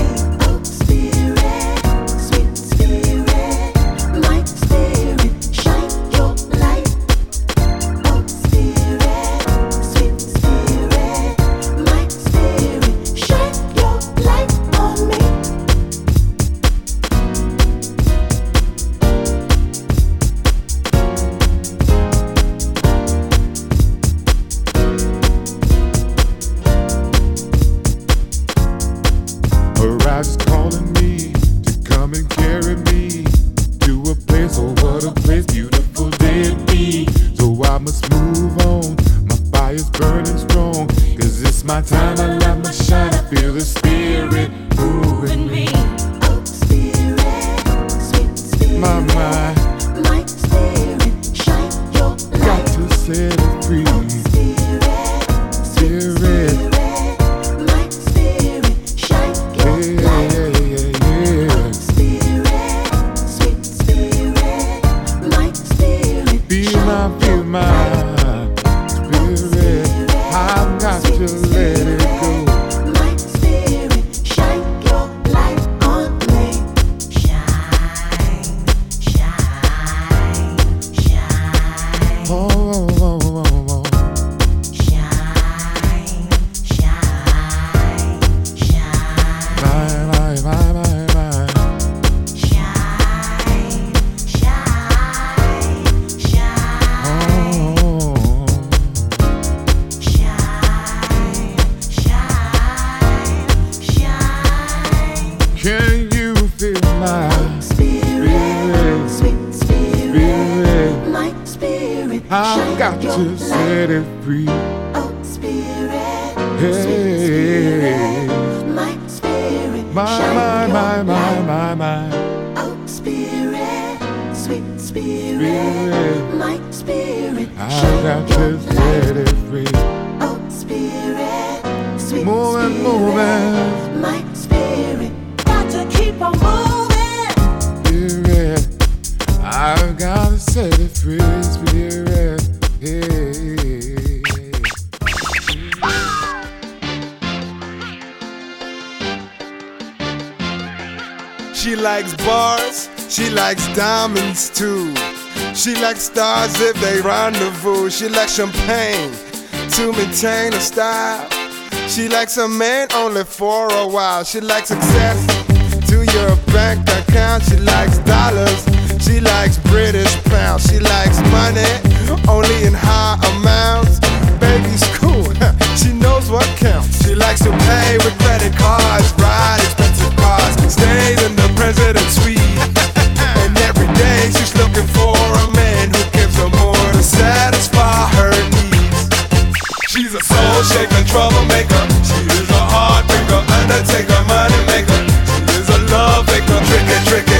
She likes bars, she likes diamonds too. She likes stars if they rendezvous. She likes champagne to maintain her style. She likes a man only for a while. She likes access to your bank account. She likes dollars, she likes British pounds. She likes money only in high amounts. Baby's cool, she knows what counts. She likes to pay with credit cards, ride expensive cars, stays in the president's suite. And every day she's looking for a man who gives her more to satisfy her needs. She's a soul shaker, troublemaker. She is a heartbreaker, undertaker, money maker. She is a love maker, tricky.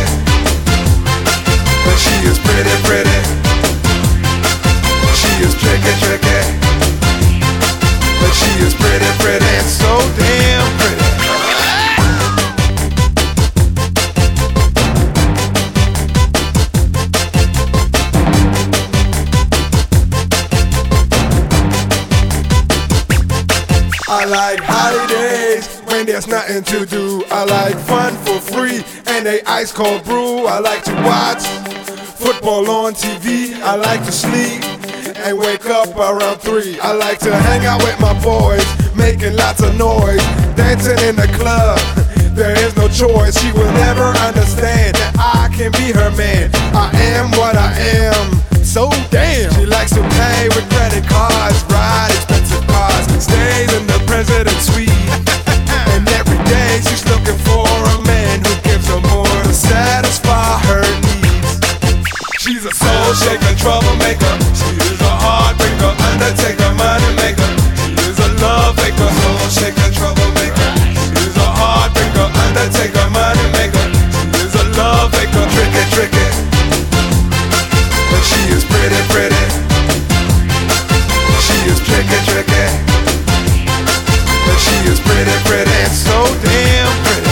But she is pretty. She is tricky. But she is pretty and so damn pretty. there's nothing to do. I like fun for free and a ice cold brew. I like to watch football on TV. I like to sleep and wake up around 3. I like to hang out with my boys, making lots of noise, dancing in the club. There is no choice. She will never understand that I can be her man. I am what I am. So damn. She likes to pay with credit cards, ride expensive cars, stays in the president's suite. And every day she's looking for a man who gives her more to satisfy her needs. She's a soul shaker, troublemaker. She is a heartbreaker, undertaker, money maker. She is a love maker, soul shaker, troublemaker. She is a heartbreaker, undertaker, money maker. She is a love maker, tricky. But she is pretty. She is tricky. But she is pretty and so damn pretty.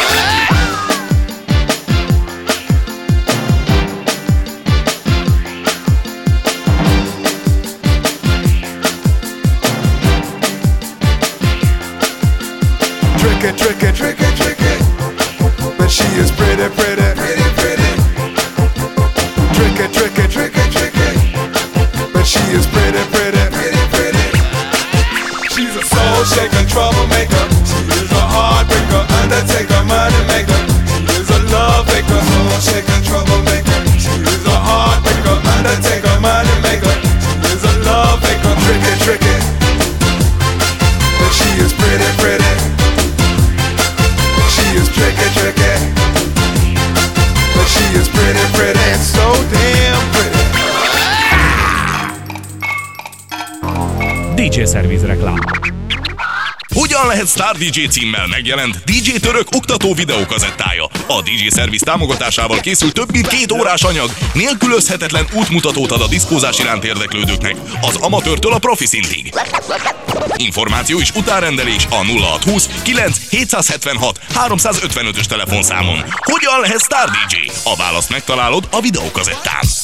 Tricky. But she is pretty. Tricky. But she is pretty. She's a soul shaker, troublemaker. She is a heartbreaker, undertaker, money maker. She is a love maker, soul shaker, troublemaker. She is a heartbreaker, undertaker, money maker. She is a love maker, tricky. But she is pretty. She is tricky. But she is pretty and so damn pretty. DJ Service reklám. Hogyan lehet Star DJ címmel megjelent DJ Török oktató videókazettája? A DJ Service támogatásával készült több mint 2 órás anyag, nélkülözhetetlen útmutatót ad a diszkózás iránt érdeklődőknek, az amatőrtől a profi szintig. Információ és utárendelés a 0620 9 776 355-ös telefonszámon. Hogyan lehet Star DJ? A választ megtalálod a videókazettán.